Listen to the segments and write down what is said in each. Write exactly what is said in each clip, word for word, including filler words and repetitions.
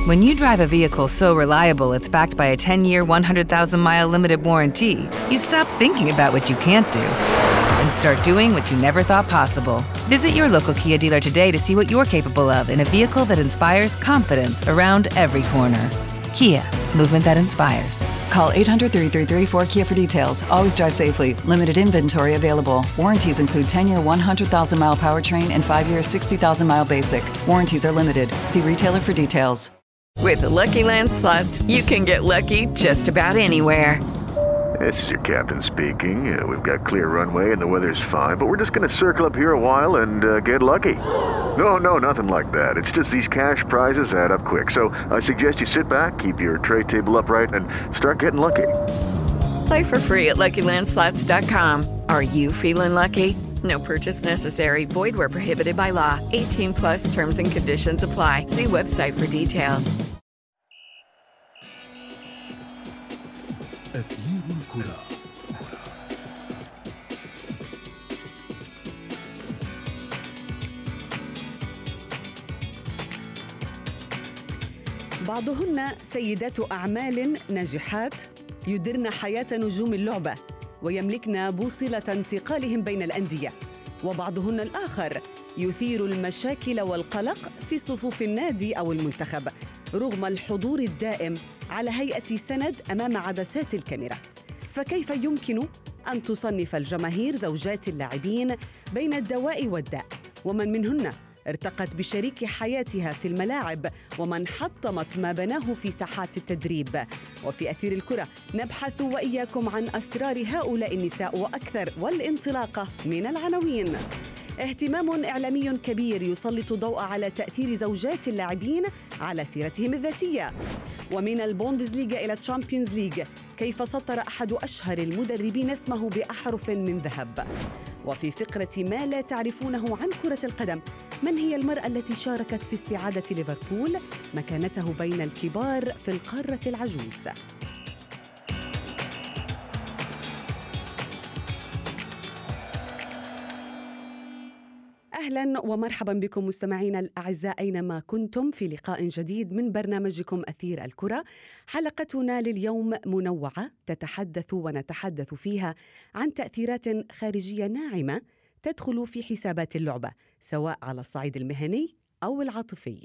When you drive a vehicle so reliable it's backed by a ten-year, one hundred thousand mile limited warranty, you stop thinking about what you can't do and start doing what you never thought possible. Visit your local Kia dealer today to see what you're capable of in a vehicle that inspires confidence around every corner. Kia, movement that inspires. Call eight hundred, three three three, four K I A for details. Always drive safely. Limited inventory available. Warranties include ten-year, one hundred thousand mile powertrain and five-year, sixty thousand mile basic. Warranties are limited. See retailer for details. With the Lucky Land Slots, you can get lucky just about anywhere. This is your captain speaking. Uh, we've got clear runway and the weather's fine, but we're just going to circle up here a while and uh, get lucky. No, no, nothing like that. It's just these cash prizes add up quick. So I suggest you sit back, keep your tray table upright, and start getting lucky. Play for free at Lucky Land Slots dot com. Are you feeling lucky? No purchase necessary. Void where prohibited by law. eighteen plus terms and conditions apply. See website for details. أثير الكرة. بعضهن سيدات أعمال ناجحات يدرن حياة نجوم اللعبة ويملكن بوصلة انتقالهم بين الأندية، وبعضهن الآخر يثير المشاكل والقلق في صفوف النادي أو المنتخب رغم الحضور الدائم على هيئة سند أمام عدسات الكاميرا. فكيف يمكن أن تصنف الجماهير زوجات اللاعبين بين الدواء والداء؟ ومن منهن ارتقت بشريك حياتها في الملاعب ومن حطمت ما بناه في ساحات التدريب؟ وفي أثير الكرة نبحث وإياكم عن أسرار هؤلاء النساء وأكثر، والانطلاقة من العناوين. اهتمام إعلامي كبير يسلط ضوء على تأثير زوجات اللاعبين على سيرتهم الذاتية. ومن البوندسليغا إلى الشامبيونز ليج، كيف سطر أحد أشهر المدربين اسمه بأحرف من ذهب. وفي فقرة ما لا تعرفونه عن كرة القدم، من هي المرأة التي شاركت في استعادة ليفربول مكانته بين الكبار في القارة العجوز؟ أهلاً ومرحباً بكم مستمعينا الأعزاء أينما كنتم في لقاء جديد من برنامجكم أثير الكرة. حلقتنا لليوم منوعة تتحدث ونتحدث فيها عن تأثيرات خارجية ناعمة تدخل في حسابات اللعبة سواء على الصعيد المهني أو العاطفي.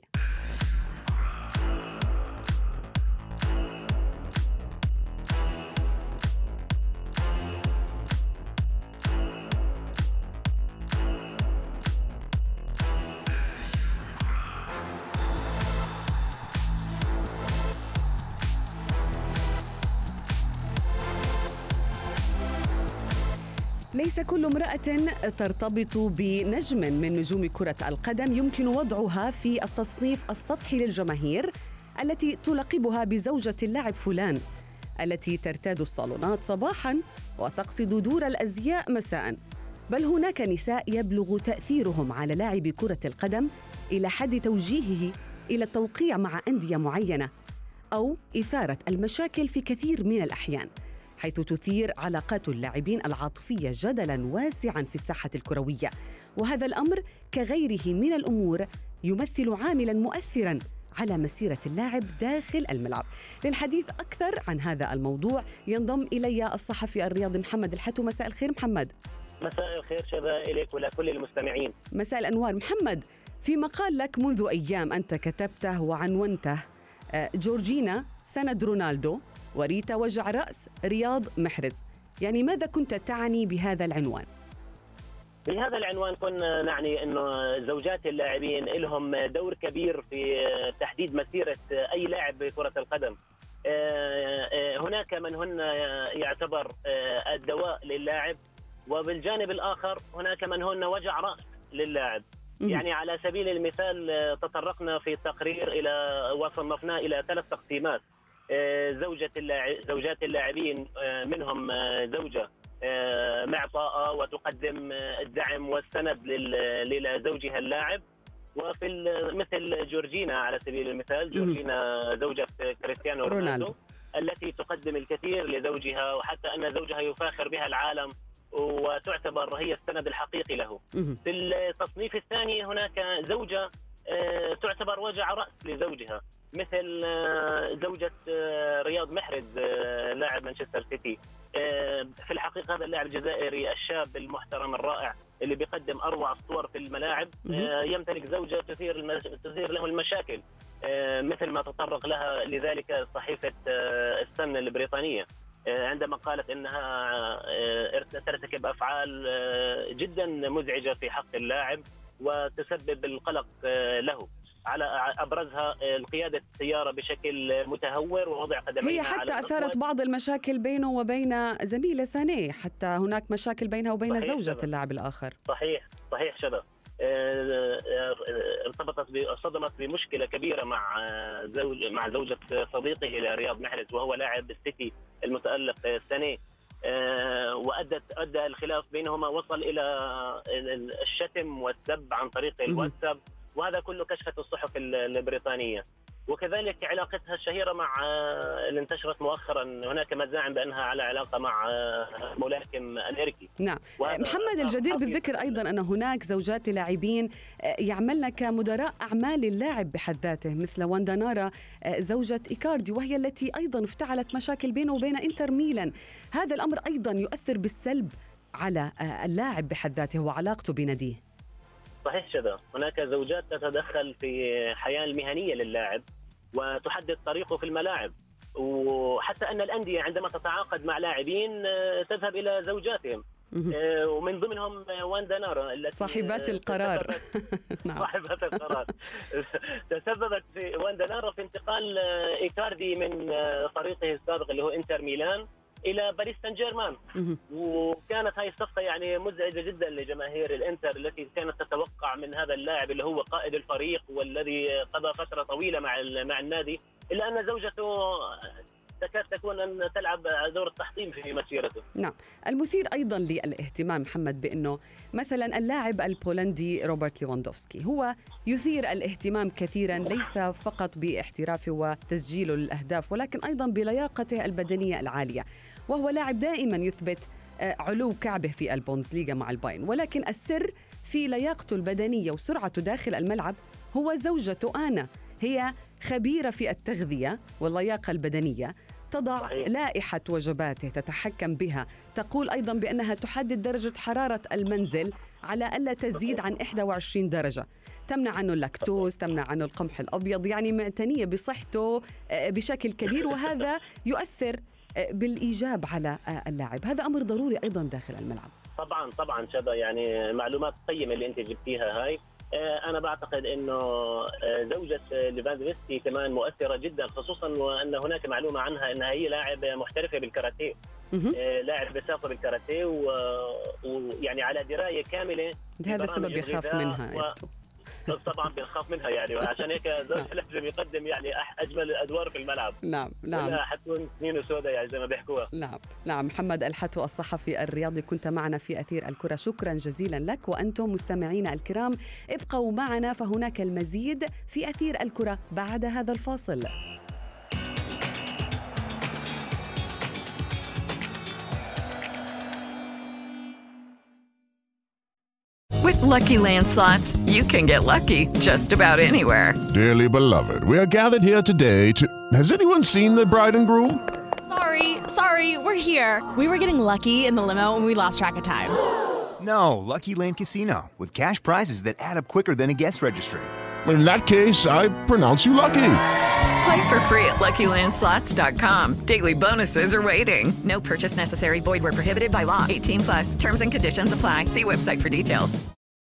ليس كل امرأة ترتبط بنجم من نجوم كرة القدم يمكن وضعها في التصنيف السطحي للجماهير التي تلقبها بزوجة اللاعب فلان، التي ترتاد الصالونات صباحاً وتقصد دور الأزياء مساءً. بل هناك نساء يبلغ تأثيرهم على لاعب كرة القدم إلى حد توجيهه إلى التوقيع مع أندية معينة أو إثارة المشاكل في كثير من الأحيان، حيث تثير علاقات اللاعبين العاطفية جدلاً واسعاً في الساحة الكروية. وهذا الأمر كغيره من الأمور يمثل عاملاً مؤثراً على مسيرة اللاعب داخل الملعب. للحديث أكثر عن هذا الموضوع ينضم إلي الصحفي الرياضي محمد الحتو. مساء الخير محمد. مساء الخير شباب إليك ولكل المستمعين. مساء الأنوار محمد. في مقال لك منذ أيام أنت كتبته وعنونته جورجينا سند رونالدو وريتا وجع رأس رياض محرز، يعني ماذا كنت تعني بهذا العنوان؟ بهذا العنوان كنا نعني أنه زوجات اللاعبين لهم دور كبير في تحديد مسيرة أي لاعب بكرة القدم. هناك من هن يعتبر الدواء للاعب، وبالجانب الآخر هناك من هن وجع رأس للاعب. يعني على سبيل المثال تطرقنا في التقرير إلى وصنفنا إلى ثلاث تقسيمات. زوجة اللاعب زوجات اللاعبين منهم زوجة معطاءة وتقدم الدعم والسند لزوجها اللاعب، وفي مثل جورجينا على سبيل المثال، جورجينا زوجة كريستيانو رونالدو التي تقدم الكثير لزوجها، وحتى أن زوجها يفاخر بها العالم وتعتبر هي السند الحقيقي له. في التصنيف الثاني هناك زوجة تعتبر وجع رأس لزوجها، مثل زوجة رياض محرز لاعب مانشستر سيتي. في الحقيقة هذا اللاعب الجزائري الشاب المحترم الرائع اللي بيقدم أروع الصور في الملاعب يمتلك زوجة تثير المش... تثير له المشاكل مثل ما تطرق لها لذلك صحيفة السن البريطانية عندما قالت إنها ترتكب أفعال جدا مزعجة في حق اللاعب وتسبب القلق له. على أبرزها القيادة السيارة بشكل متهور ووضع قدميها. هي حتى أثارت بعض المشاكل بينه وبين زميله سانيه، حتى هناك مشاكل بينها وبين زوجة شبه. اللاعب الآخر. صحيح صحيح شبه. ارتبطت صدمت بمشكلة كبيرة مع زوج مع زوجة صديقه رياض محرز وهو لاعب السيتي المتألق سانيه، وأدت أدى الخلاف بينهما وصل إلى الشتم والسب عن طريق الواتساب، وهذا كله كشفت الصحف البريطانية. وكذلك علاقتها الشهيرة مع اللي انتشرت مؤخرا، هناك مزاعم بأنها على علاقة مع ملاكم أمريكي. نعم محمد، الجدير بالذكر أيضا أن هناك زوجات لاعبين يعملن كمدراء أعمال اللاعب بحد ذاته، مثل واندا نارا زوجة إيكاردي، وهي التي أيضا افتعلت مشاكل بينه وبين إنتر ميلان. هذا الأمر أيضا يؤثر بالسلب على اللاعب بحد ذاته وعلاقته بناديه. صحيح شذا، هناك زوجات تتدخل في الحياة المهنية للاعب وتحدد طريقه في الملاعب، وحتى أن الأندية عندما تتعاقد مع لاعبين تذهب إلى زوجاتهم ومن ضمنهم واندا نارا التي صاحبات القرار. صاحبات القرار تسببت في واندا نارا في انتقال إيكاردي من فريقه السابق اللي هو إنتر ميلان إلى باريس سان جيرمان، وكانت هاي الصفقة يعني مزعجة جدا لجماهير الإنتر التي كانت تتوقع من هذا اللاعب اللي هو قائد الفريق والذي قضى فترة طويلة مع مع النادي، إلا أن زوجته تكاد تكون أن تلعب دور التحطيم في مسيرته. نعم، المثير أيضا للاهتمام محمد بأنه مثلا اللاعب البولندي روبرت ليفاندوفسكي هو يثير الاهتمام كثيرا، ليس فقط باحترافه وتسجيله للأهداف ولكن أيضا بلياقته البدنية العالية، وهو لاعب دائما يثبت علو كعبه في البوندسليغا مع البايرن، ولكن السر في لياقته البدنية وسرعته داخل الملعب هو زوجته آنا. هي خبيرة في التغذية واللياقة البدنية، تضع صحيح. لائحة وجباته تتحكم بها، تقول أيضا بأنها تحدد درجة حرارة المنزل على ألا تزيد عن إحدى وعشرين درجة، تمنع عنه اللاكتوز، تمنع عنه القمح الأبيض، يعني معتنية بصحته بشكل كبير، وهذا يؤثر بالإيجاب على اللاعب. هذا أمر ضروري أيضا داخل الملعب. طبعا طبعا شبه، يعني معلومات قيمة اللي أنت جبتيها هاي. أنا بعتقد إنه زوجة ليفاندوفسكي كمان مؤثرة جدا، خصوصا وأن هناك معلومة عنها أنها هي لاعب محترفة بالكاراتيه، لاعب بساقة بالكاراتيه، ويعني على دراية كاملة. هذا السبب يخاف منها و... طبعا بنخاف منها يعني، وعشان هيك زوج لازم يقدم يعني اجمل الادوار في الملعب. نعم نعم، لا حتكون سنين وسوداء يعني زي ما بيحكوها. نعم نعم. محمد الحتو الصحفي الرياضي كنت معنا في أثير الكرة، شكرا جزيلا لك. وأنتم مستمعينا الكرام ابقوا معنا، فهناك المزيد في أثير الكرة بعد هذا الفاصل. With Lucky Land Slots, you can get lucky just about anywhere. Dearly beloved, we are gathered here today to... Has anyone seen the bride and groom? Sorry, sorry, we're here. We were getting lucky in the limo and we lost track of time. No, Lucky Land Casino, with cash prizes that add up quicker than a guest registry. In that case, I pronounce you lucky. Play for free at lucky land slots dot com. Daily bonuses are waiting. No purchase necessary. Void where prohibited by law. eighteen plus. Terms and conditions apply. See website for details.